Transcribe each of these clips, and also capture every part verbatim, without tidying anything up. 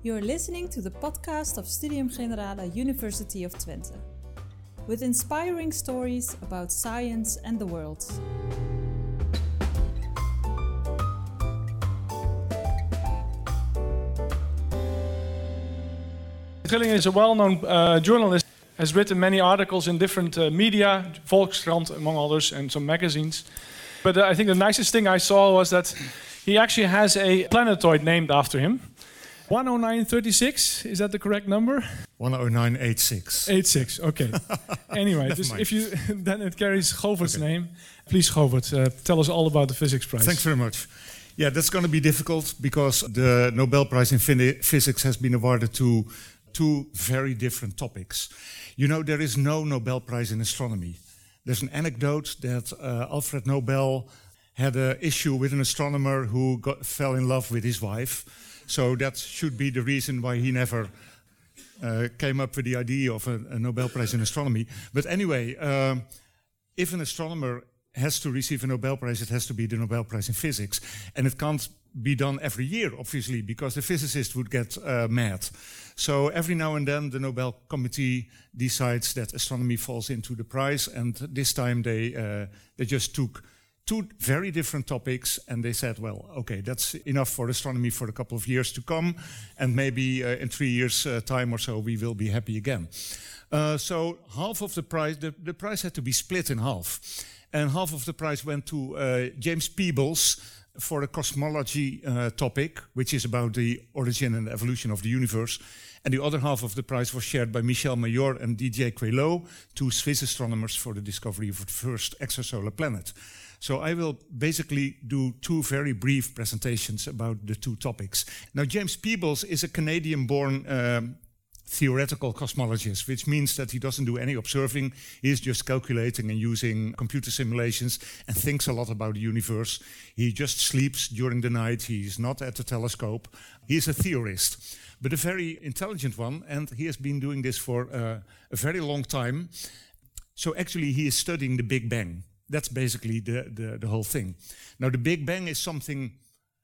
You're listening to the podcast of Studium Generale University of Twente, with inspiring stories about science and the world. Trilling is a well-known uh, journalist, has written many articles in different uh, media, Volkskrant among others, and some magazines. But uh, I think the nicest thing I saw was that he actually has a planetoid named after him. one oh nine thirty-six, is that the correct number? one oh nine eighty-six. eighty-six, okay. Anyway, just if you then it carries Govert's okay. name. Please, Govert, uh, tell us all about the physics prize. Thanks very much. Yeah, that's going to be difficult because the Nobel Prize in Physics has been awarded to two very different topics. You know, there is no Nobel Prize in astronomy. There's an anecdote that uh, Alfred Nobel had an issue with an astronomer who got, fell in love with his wife. So that should be the reason why he never uh, came up with the idea of a, a Nobel Prize in astronomy. But anyway, uh, if an astronomer has to receive a Nobel Prize, it has to be the Nobel Prize in Physics. And it can't be done every year, obviously, because the physicist would get uh, mad. So every now and then the Nobel Committee decides that astronomy falls into the prize, and this time they uh, they just took two very different topics and they said, well, okay, that's enough for astronomy for a couple of years to come, and maybe uh, in three years' uh, time or so we will be happy again. Uh, so half of the prize, the, the prize had to be split in half, and half of the prize went to uh, James Peebles for a cosmology uh, topic, which is about the origin and evolution of the universe. And the other half of the prize was shared by Michel Mayor and D J Queloz, two Swiss astronomers, for the discovery of the first extrasolar planet. So I will basically do two very brief presentations about the two topics. Now, James Peebles is a Canadian-born um, theoretical cosmologist, which means that he doesn't do any observing. He's just calculating and using computer simulations and thinks a lot about the universe. He just sleeps during the night. He's not at the telescope. He's a theorist, but a very intelligent one, and he has been doing this for uh, a very long time. So actually he is studying the Big Bang. That's basically the, the, the whole thing. Now the Big Bang is something,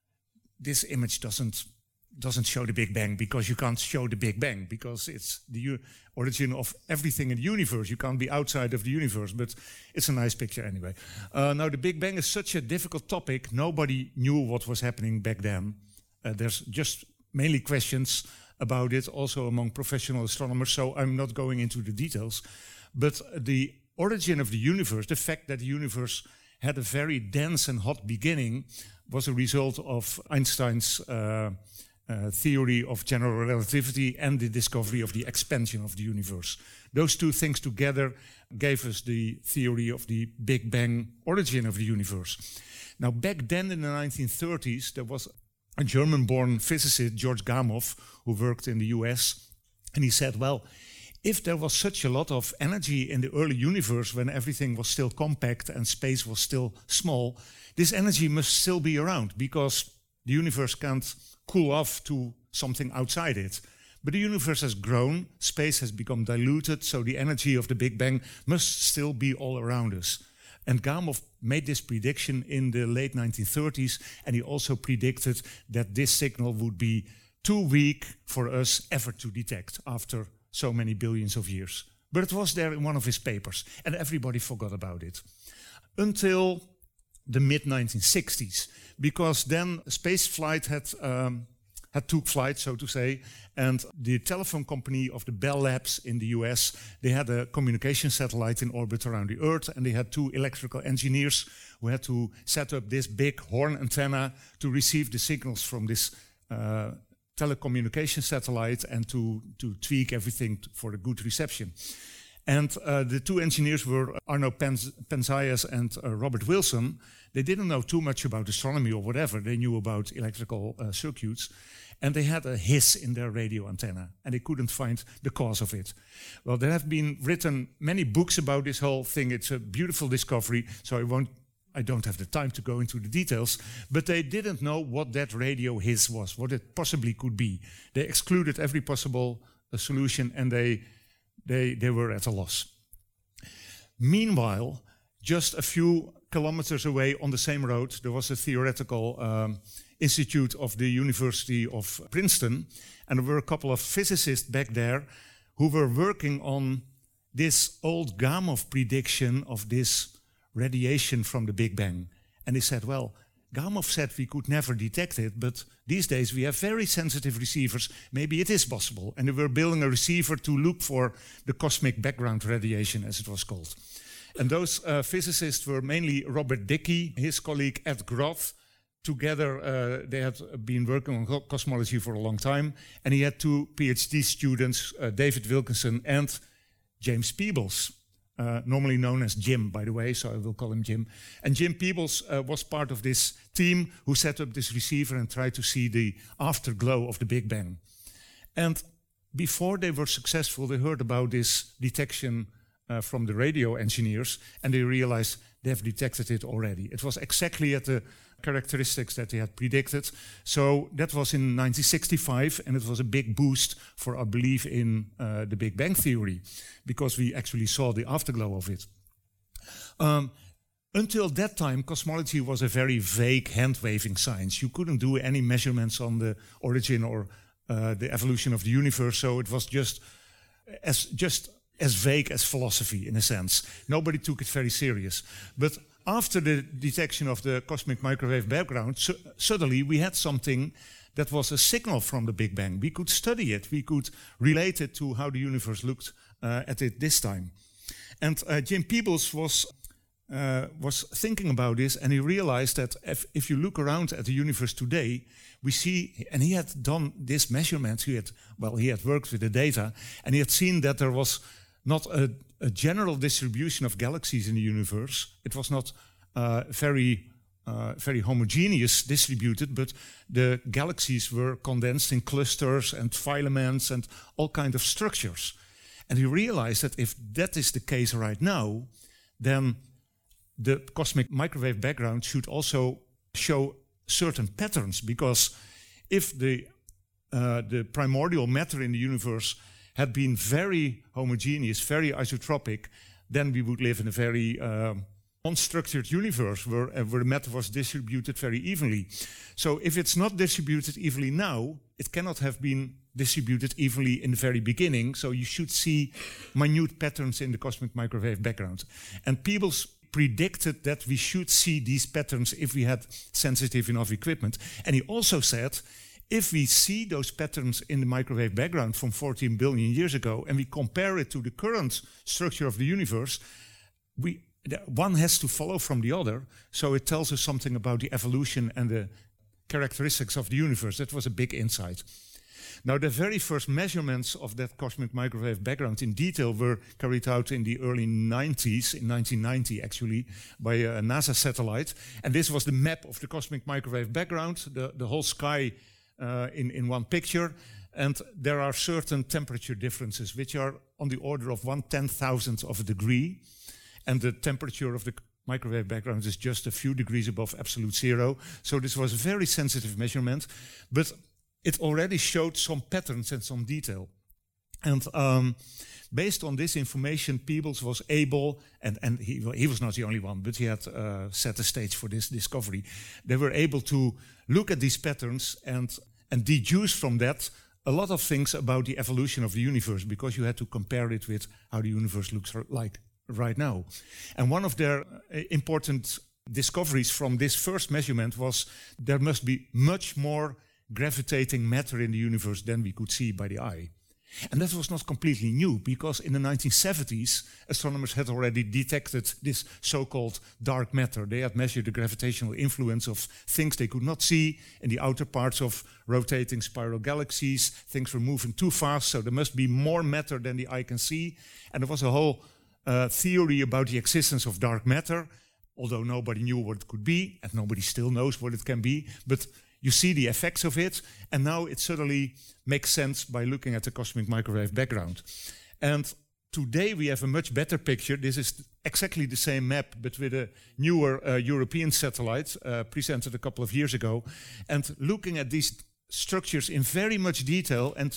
this image doesn't doesn't show the Big Bang because you can't show the Big Bang because it's the u- origin of everything in the universe. You can't be outside of the universe, but it's a nice picture anyway. Uh, now the Big Bang is such a difficult topic. Nobody knew what was happening back then. Uh, there's just mainly questions about it, also among professional astronomers, so I'm not going into the details. But the origin of the universe, the fact that the universe had a very dense and hot beginning, was a result of Einstein's uh, uh, theory of general relativity and the discovery of the expansion of the universe. Those two things together gave us the theory of the Big Bang origin of the universe. Now, back then in the nineteen thirties, there was a German-born physicist, George Gamow, who worked in the U S, and he said, well, if there was such a lot of energy in the early universe when everything was still compact and space was still small, this energy must still be around because the universe can't cool off to something outside it. But the universe has grown, space has become diluted, so the energy of the Big Bang must still be all around us. And Gamow made this prediction in the late nineteen thirties, and he also predicted that this signal would be too weak for us ever to detect after so many billions of years. But it was there in one of his papers, and everybody forgot about it. Until the mid nineteen sixties, because then space flight had, um, had took flight, so to say, and the telephone company of the Bell Labs in the U S, they had a communication satellite in orbit around the Earth, and they had two electrical engineers who had to set up this big horn antenna to receive the signals from this uh, telecommunication satellite and to, to tweak everything t- for a good reception. And uh, the two engineers were Arno Penz- Penzias and uh, Robert Wilson. They didn't know too much about astronomy or whatever. They knew about electrical uh, circuits. And they had a hiss in their radio antenna, and they couldn't find the cause of it. Well, there have been written many books about this whole thing. It's a beautiful discovery, so I won't I don't have the time to go into the details, but they didn't know what that radio hiss was, what it possibly could be. They excluded every possible uh, solution, and they, they, they were at a loss. Meanwhile, just a few kilometers away on the same road, there was a theoretical um, Institute of the University of Princeton. And there were a couple of physicists back there who were working on this old Gamow prediction of this radiation from the Big Bang. And they said, well, Gamow said we could never detect it, but these days we have very sensitive receivers. Maybe it is possible. And they were building a receiver to look for the cosmic background radiation, as it was called. And those uh, physicists were mainly Robert Dicke, his colleague Ed Groth. Together, uh, they had been working on co cosmology for a long time. And he had two PhD students, uh, David Wilkinson and James Peebles. Uh, normally known as Jim, by the way, so I will call him Jim. And Jim Peebles uh, was part of this team who set up this receiver and tried to see the afterglow of the Big Bang. And before they were successful, they heard about this detection uh, from the radio engineers, and they realized they have detected it already. It was exactly at the characteristics that they had predicted. So that was in nineteen sixty-five, and it was a big boost for our belief in uh, the Big Bang theory, because we actually saw the afterglow of it. Um, until that time, cosmology was a very vague, hand-waving science. You couldn't do any measurements on the origin or uh, the evolution of the universe, so it was just as, just as vague as philosophy, in a sense. Nobody took it very serious. But after the detection of the cosmic microwave background, su suddenly we had something that was a signal from the Big Bang. We could study it. We could relate it to how the universe looked uh, at it this time. And uh, Jim Peebles was, uh, was thinking about this, and he realized that if, if you look around at the universe today, we see, and he had done this measurement, he had, well, he had worked with the data, and he had seen that there was not a, a general distribution of galaxies in the universe. It was not uh, very, uh, very homogeneous distributed, but the galaxies were condensed in clusters and filaments and all kinds of structures. And he realized that if that is the case right now, then the cosmic microwave background should also show certain patterns, because if the, uh, the primordial matter in the universe had been very homogeneous, very isotropic, then we would live in a very uh, unstructured universe where, uh, where matter was distributed very evenly. So if it's not distributed evenly now, it cannot have been distributed evenly in the very beginning, so you should see minute patterns in the cosmic microwave background. And Peebles predicted that we should see these patterns if we had sensitive enough equipment. And he also said, if we see those patterns in the microwave background from fourteen billion years ago and we compare it to the current structure of the universe, we, one has to follow from the other. So it tells us something about the evolution and the characteristics of the universe. That was a big insight. Now, the very first measurements of that cosmic microwave background in detail were carried out in the early nineties, in nineteen ninety actually, by a NASA satellite. And this was the map of the cosmic microwave background, the, the whole sky Uh, in, in one picture, and there are certain temperature differences which are on the order of one ten thousandth of a degree, and the temperature of the microwave background is just a few degrees above absolute zero. So this was a very sensitive measurement, but it already showed some patterns and some detail. And um, based on this information, Peebles was able, and, and he, he was not the only one, but he had uh, set the stage for this discovery. They were able to look at these patterns and, and deduce from that a lot of things about the evolution of the universe, because you had to compare it with how the universe looks like right now. And one of their uh, important discoveries from this first measurement was there must be much more gravitating matter in the universe than we could see by the eye. And that was not completely new, because in the nineteen seventies, astronomers had already detected this so-called dark matter. They had measured the gravitational influence of things they could not see in the outer parts of rotating spiral galaxies. Things were moving too fast, so there must be more matter than the eye can see. And there was a whole uh, theory about the existence of dark matter, although nobody knew what it could be, and nobody still knows what it can be. But you see the effects of it, and now it suddenly makes sense by looking at the cosmic microwave background. And today we have a much better picture. This is exactly the same map, but with a newer uh, European satellite uh, presented a couple of years ago. And looking at these structures in very much detail and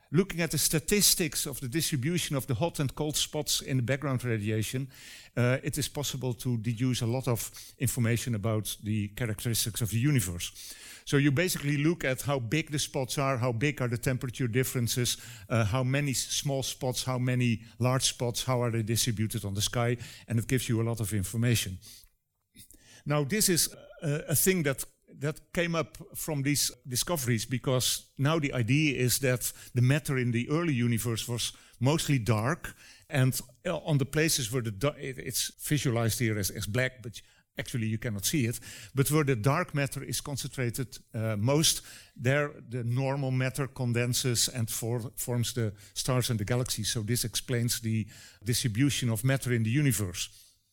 looking at the statistics of the distribution of the hot and cold spots in the background radiation, uh, it is possible to deduce a lot of information about the characteristics of the universe. So you basically look at how big the spots are, how big are the temperature differences, uh, how many small spots, how many large spots, how are they distributed on the sky, and it gives you a lot of information. Now this is a, a thing that that came up from these discoveries, because now the idea is that the matter in the early universe was mostly dark, and on the places where the it's visualized here as, as black, but actually you cannot see it, but where the dark matter is concentrated uh, most, there the normal matter condenses and for, forms the stars and the galaxies. So this explains the distribution of matter in the universe.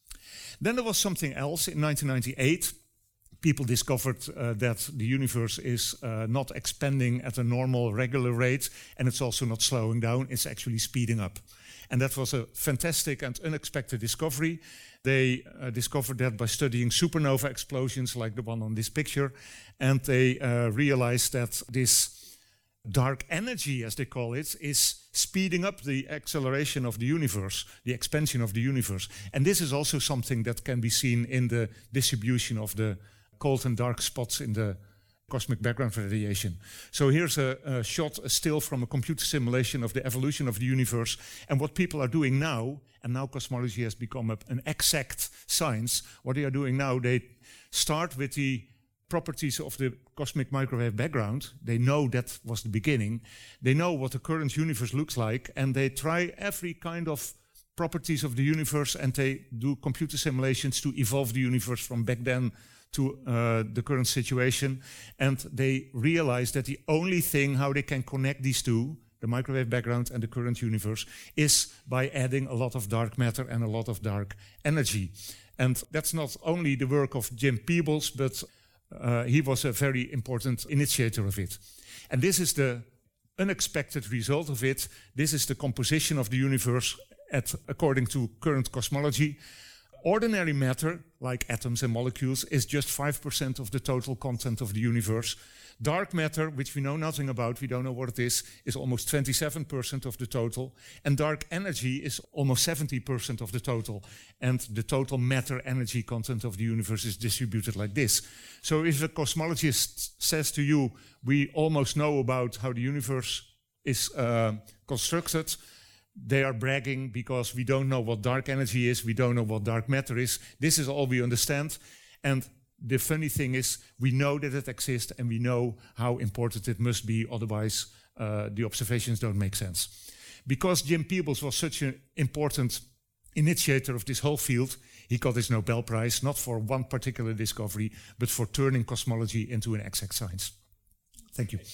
Then there was something else in nineteen ninety-eight. People discovered uh, that the universe is uh, not expanding at a normal, regular rate, and it's also not slowing down, it's actually speeding up. And that was a fantastic and unexpected discovery. They uh, discovered that by studying supernova explosions like the one on this picture, and they uh, realized that this dark energy, as they call it, is speeding up the acceleration of the universe, the expansion of the universe. And this is also something that can be seen in the distribution of the cold and dark spots in the cosmic background radiation. So here's a, a shot, a still from a computer simulation of the evolution of the universe. And what people are doing now, and now cosmology has become a, an exact science, what they are doing now, they start with the properties of the cosmic microwave background. They know that was the beginning. They know what the current universe looks like, and they try every kind of properties of the universe, and they do computer simulations to evolve the universe from back then to uh, the current situation. And they realize that the only thing how they can connect these two, the microwave background and the current universe, is by adding a lot of dark matter and a lot of dark energy. And that's not only the work of Jim Peebles, but uh, he was a very important initiator of it. And this is the unexpected result of it. This is the composition of the universe at, according to current cosmology. Ordinary matter, like atoms and molecules, is just five percent of the total content of the universe. Dark matter, which we know nothing about, we don't know what it is, is almost twenty-seven percent of the total. And dark energy is almost seventy percent of the total. And the total matter energy content of the universe is distributed like this. So if a cosmologist says to you, we almost know about how the universe is uh, constructed, they are bragging because we don't know what dark energy is, we don't know what dark matter is. This is all we understand. And the funny thing is, we know that it exists and we know how important it must be, otherwise uh, the observations don't make sense. Because Jim Peebles was such an important initiator of this whole field, he got his Nobel Prize, not for one particular discovery, but for turning cosmology into an exact science. Thank you.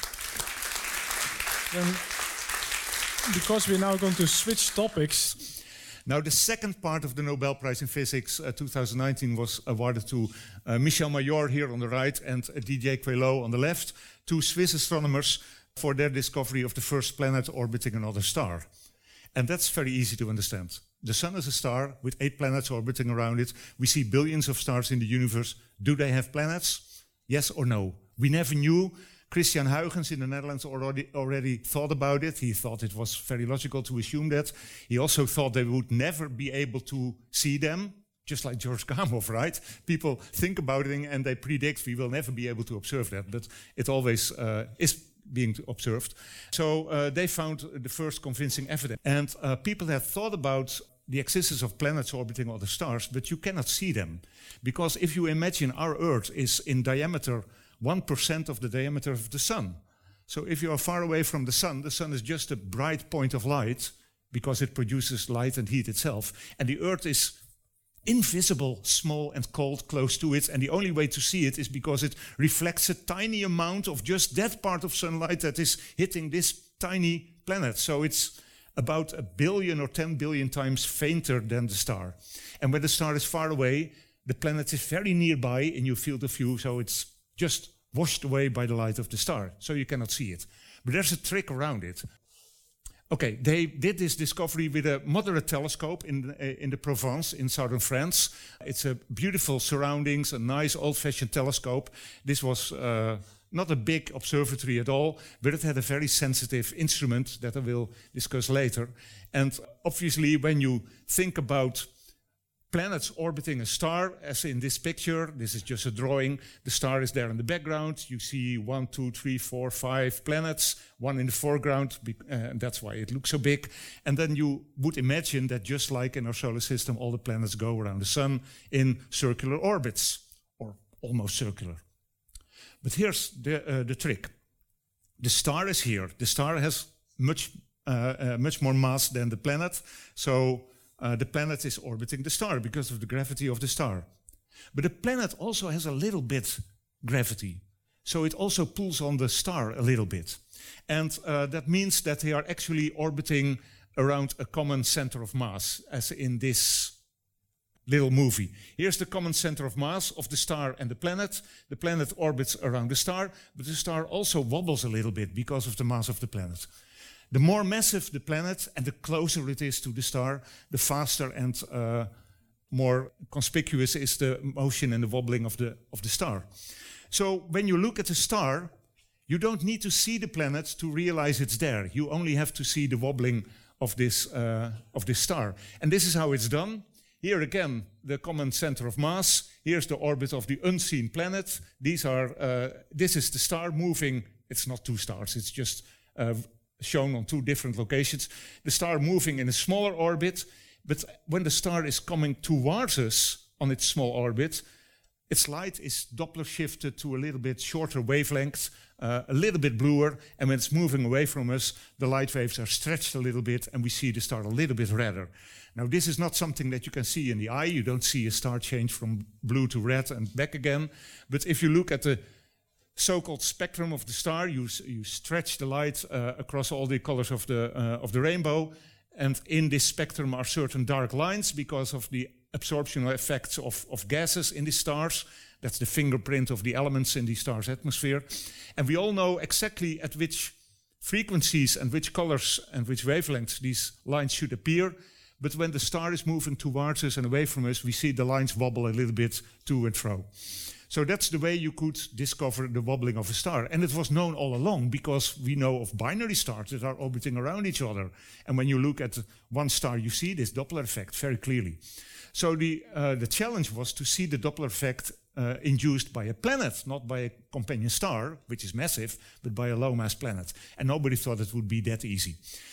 Um, Because we're now going to switch topics. Now, the second part of the Nobel Prize in Physics uh, two thousand nineteen was awarded to uh, Michel Mayor here on the right and uh, D J Queloz on the left, two Swiss astronomers, for their discovery of the first planet orbiting another star. And that's very easy to understand. The sun is a star with eight planets orbiting around it. We see billions of stars in the universe. Do they have planets? Yes or no? We never knew. Christian Huygens in the Netherlands already, already thought about it. He thought it was very logical to assume that. He also thought they would never be able to see them, just like George Gamow, right? People think about it and they predict we will never be able to observe that, but it always uh, is being observed. So uh, they found the first convincing evidence. And uh, people have thought about the existence of planets orbiting other stars, but you cannot see them. Because if you imagine our Earth is in diameter one percent of the diameter of the sun. So if you are far away from the sun, the sun is just a bright point of light because it produces light and heat itself. And the Earth is invisible, small and cold, close to it. And the only way to see it is because it reflects a tiny amount of just that part of sunlight that is hitting this tiny planet. So it's about a billion or ten billion times fainter than the star. And when the star is far away, the planet is very nearby in your field of view, so it's just washed away by the light of the star, so you cannot see it. But there's a trick around it. Okay, they did this discovery with a moderate telescope in the, uh, in the Provence in southern France. It's a beautiful surroundings, a nice old-fashioned telescope. This was uh, not a big observatory at all, but it had a very sensitive instrument that I will discuss later. And obviously, when you think about planets orbiting a star, as in this picture, this is just a drawing, the star is there in the background, you see one, two, three, four, five planets, one in the foreground, uh, and that's why it looks so big. And then you would imagine that just like in our solar system, all the planets go around the sun in circular orbits, or almost circular. But here's the, uh, the trick. The star is here. The star has much, uh, uh, much more mass than the planet, so Uh, the planet is orbiting the star because of the gravity of the star. But the planet also has a little bit gravity. So it also pulls on the star a little bit. And uh, that means that they are actually orbiting around a common center of mass, as in this little movie. Here's the common center of mass of the star and the planet. The planet orbits around the star, but the star also wobbles a little bit because of the mass of the planet. The more massive the planet and the closer it is to the star, the faster and uh, more conspicuous is the motion and the wobbling of the, of the star. So when you look at a star, you don't need to see the planet to realize it's there. You only have to see the wobbling of this, uh, of this star. And this is how it's done. Here again, the common center of mass. Here's the orbit of the unseen planet. These are, uh, this is the star moving. It's not two stars, it's just uh, shown on two different locations. The star moving in a smaller orbit, but when the star is coming towards us on its small orbit, its light is Doppler shifted to a little bit shorter wavelength, uh, a little bit bluer, and when it's moving away from us, the light waves are stretched a little bit and we see the star a little bit redder. Now this is not something that you can see in the eye. You don't see a star change from blue to red and back again. But if you look at the so-called spectrum of the star, you, you stretch the light uh, across all the colors of the, uh, of the rainbow, and in this spectrum are certain dark lines because of the absorption effects of, of gases in the stars. That's the fingerprint of the elements in the star's atmosphere. And we all know exactly at which frequencies and which colors and which wavelengths these lines should appear. But when the star is moving towards us and away from us, we see the lines wobble a little bit to and fro. So that's the way you could discover the wobbling of a star. And it was known all along because we know of binary stars that are orbiting around each other. And when you look at one star, you see this Doppler effect very clearly. So the, uh, the challenge was to see the Doppler effect uh, induced by a planet, not by a companion star, which is massive, but by a low-mass planet. And nobody thought it would be that easy.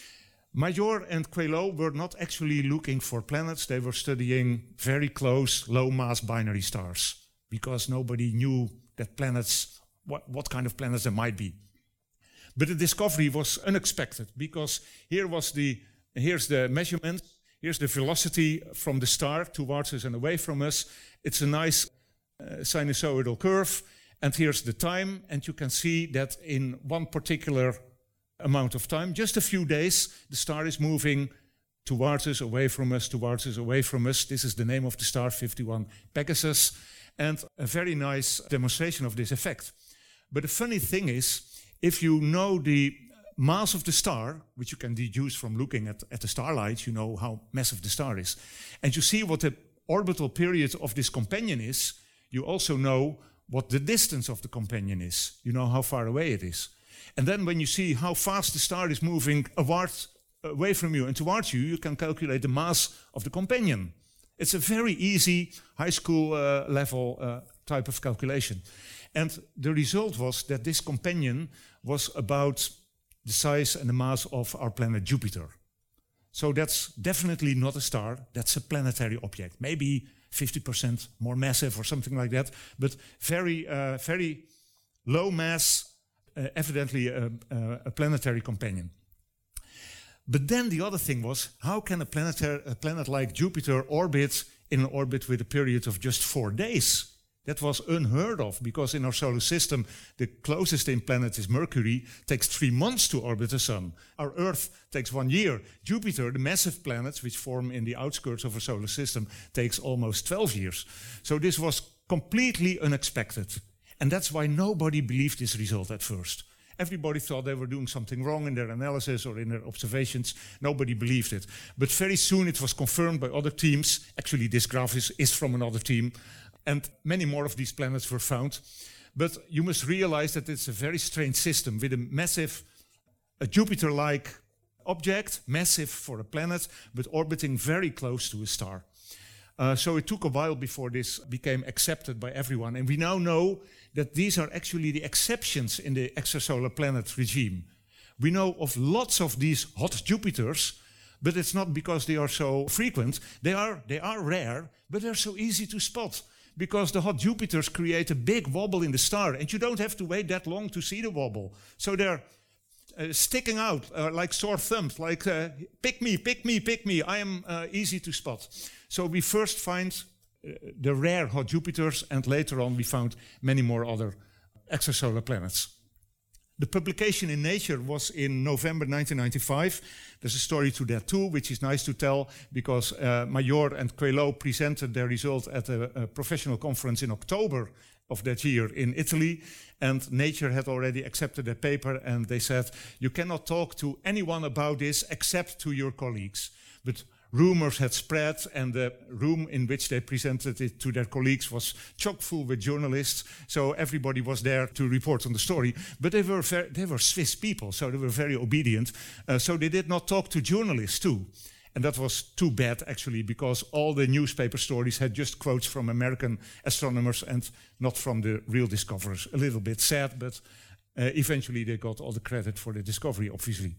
Major and Queloz were not actually looking for planets. They were studying very close, low-mass binary stars, because nobody knew that planets, what, what kind of planets there might be. But the discovery was unexpected, because here was the, here's the measurement, here's the velocity from the star towards us and away from us. It's a nice uh, sinusoidal curve, and here's the time, and you can see that in one particular amount of time, just a few days, the star is moving towards us, away from us, towards us, away from us. This is the name of the star, fifty-one Pegasus. And a very nice demonstration of this effect. But the funny thing is, if you know the mass of the star, which you can deduce from looking at, at the starlight, you know how massive the star is, and you see what the orbital period of this companion is, you also know what the distance of the companion is. You know how far away it is. And then when you see how fast the star is moving away from you and towards you, you can calculate the mass of the companion. It's a very easy high school uh, level uh, type of calculation. And the result was that this companion was about the size and the mass of our planet Jupiter. So that's definitely not a star, that's a planetary object. Maybe fifty percent more massive or something like that, but very, uh, very low mass, uh, evidently a, a planetary companion. But then the other thing was, how can a, a planet like Jupiter orbit in an orbit with a period of just four days? That was unheard of, because in our solar system, the closest in planet is Mercury, takes three months to orbit the sun. Our Earth takes one year. Jupiter, the massive planets which form in the outskirts of our solar system, takes almost twelve years. So this was completely unexpected. And that's why nobody believed this result at first. Everybody thought they were doing something wrong in their analysis or in their observations. Nobody believed it. But very soon it was confirmed by other teams. Actually, this graph is, is from another team. And many more of these planets were found. But you must realize that it's a very strange system with a massive, a Jupiter-like object, massive for a planet, but orbiting very close to a star. Uh, so it took a while before this became accepted by everyone. And we now know that these are actually the exceptions in the extrasolar planet regime. We know of lots of these hot Jupiters, but it's not because they are so frequent. They are, they are rare, but they're so easy to spot. Because the hot Jupiters create a big wobble in the star, and you don't have to wait that long to see the wobble. So they're uh, sticking out uh, like sore thumbs, like uh, pick me, pick me, pick me. I am uh, easy to spot. So we first find uh, the rare hot Jupiters, and later on we found many more other extrasolar planets. The publication in Nature was in November nineteen ninety-five. There's a story to that too, which is nice to tell, because uh, Major and Queloz presented their result at a, a professional conference in October of that year in Italy, and Nature had already accepted their paper, and they said, you cannot talk to anyone about this except to your colleagues. But rumors had spread, and the room in which they presented it to their colleagues was chock full with journalists, so everybody was there to report on the story. But they were very, they were Swiss people, so they were very obedient, uh, so they did not talk to journalists too. And that was too bad, actually, because all the newspaper stories had just quotes from American astronomers and not from the real discoverers. A little bit sad, but uh, eventually they got all the credit for the discovery, obviously.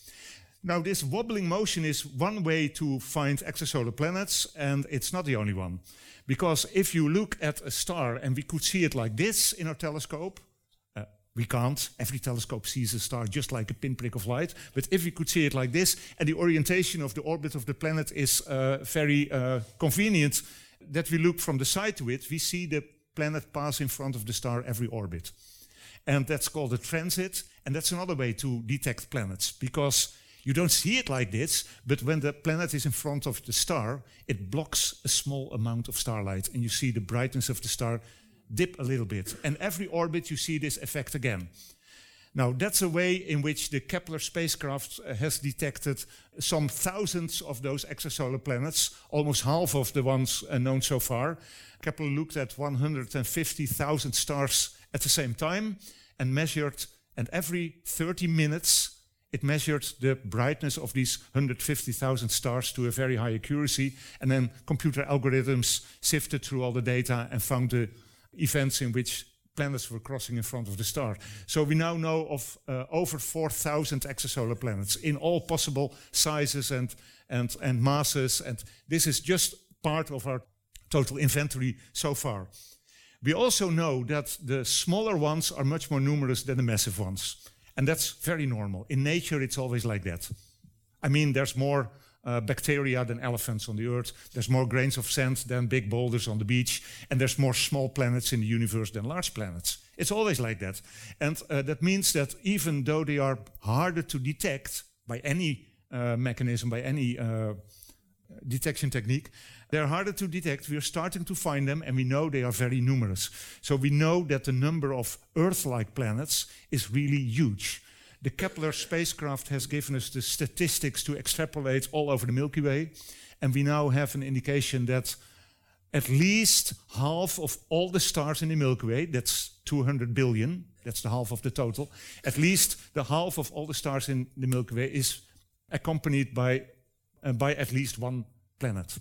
Now, this wobbling motion is one way to find extrasolar planets, and it's not the only one. Because if you look at a star, and we could see it like this in our telescope, uh, we can't. Every telescope sees a star just like a pinprick of light. But if we could see it like this, and the orientation of the orbit of the planet is uh, very uh, convenient, that we look from the side to it, we see the planet pass in front of the star every orbit. And that's called a transit, and that's another way to detect planets, because you don't see it like this, but when the planet is in front of the star, it blocks a small amount of starlight, and you see the brightness of the star dip a little bit. And every orbit you see this effect again. Now, that's a way in which the Kepler spacecraft uh, has detected some thousands of those extrasolar planets, almost half of the ones uh, known so far. Kepler looked at one hundred fifty thousand stars at the same time and measured, and every thirty minutes, it measured the brightness of these one hundred fifty thousand stars to a very high accuracy, and then computer algorithms sifted through all the data and found the events in which planets were crossing in front of the star. So we now know of uh, over four thousand extrasolar planets in all possible sizes and, and, and masses, and this is just part of our total inventory so far. We also know that the smaller ones are much more numerous than the massive ones. And that's very normal. In nature, it's always like that. I mean, there's more uh, bacteria than elephants on the Earth. There's more grains of sand than big boulders on the beach. And there's more small planets in the universe than large planets. It's always like that. And uh, that means that even though they are harder to detect by any uh, mechanism, by any uh, detection technique, they're harder to detect. We're starting to find them, and we know they are very numerous. So we know that the number of Earth-like planets is really huge. The Kepler spacecraft has given us the statistics to extrapolate all over the Milky Way, and we now have an indication that at least half of all the stars in the Milky Way, that's two hundred billion, that's the half of the total, at least the half of all the stars in the Milky Way is accompanied by, uh, by at least one planet.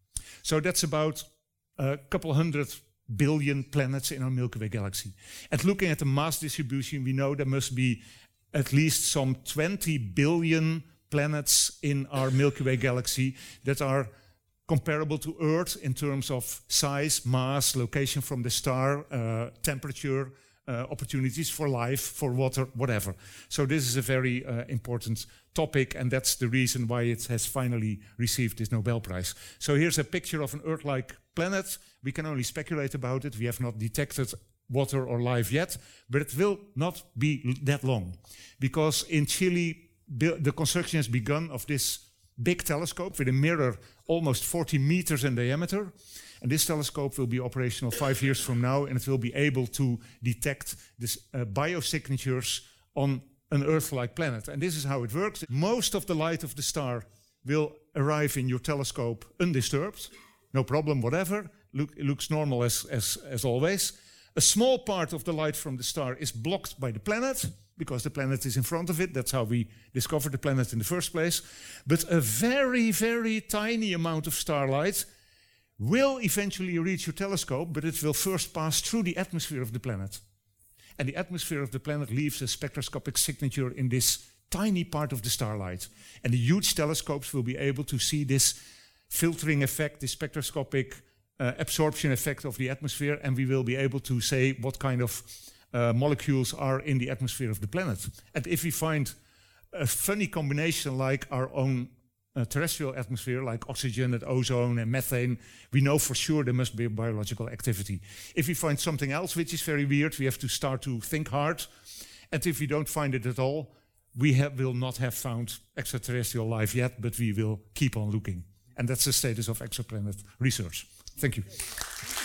So that's about a couple hundred billion planets in our Milky Way galaxy. And looking at the mass distribution, we know there must be at least some twenty billion planets in our Milky Way galaxy that are comparable to Earth in terms of size, mass, location from the star, uh, temperature, uh, opportunities for life, for water, whatever. So this is a very uh, important topic, and that's the reason why it has finally received this Nobel Prize. So here's a picture of an Earth-like planet. We can only speculate about it. We have not detected water or life yet, but it will not be that long. Because in Chile, the construction has begun of this big telescope with a mirror almost forty meters in diameter. And this telescope will be operational five years from now, and it will be able to detect this uh, biosignatures on an Earth-like planet. And this is how it works. Most of the light of the star will arrive in your telescope undisturbed. No problem, whatever. Look, it looks normal as, as, as always. A small part of the light from the star is blocked by the planet, because the planet is in front of it. That's how we discovered the planet in the first place. But a very, very tiny amount of starlight will eventually reach your telescope, but it will first pass through the atmosphere of the planet. And the atmosphere of the planet leaves a spectroscopic signature in this tiny part of the starlight. And the huge telescopes will be able to see this filtering effect, this spectroscopic uh, absorption effect of the atmosphere, and we will be able to say what kind of uh, molecules are in the atmosphere of the planet. And if we find a funny combination like our own uh, terrestrial atmosphere, like oxygen and ozone and methane, we know for sure there must be biological activity. If we find something else which is very weird, we have to start to think hard. And if we don't find it at all, we have, will not have found extraterrestrial life yet, but we will keep on looking. And that's the status of exoplanet research. Thank you.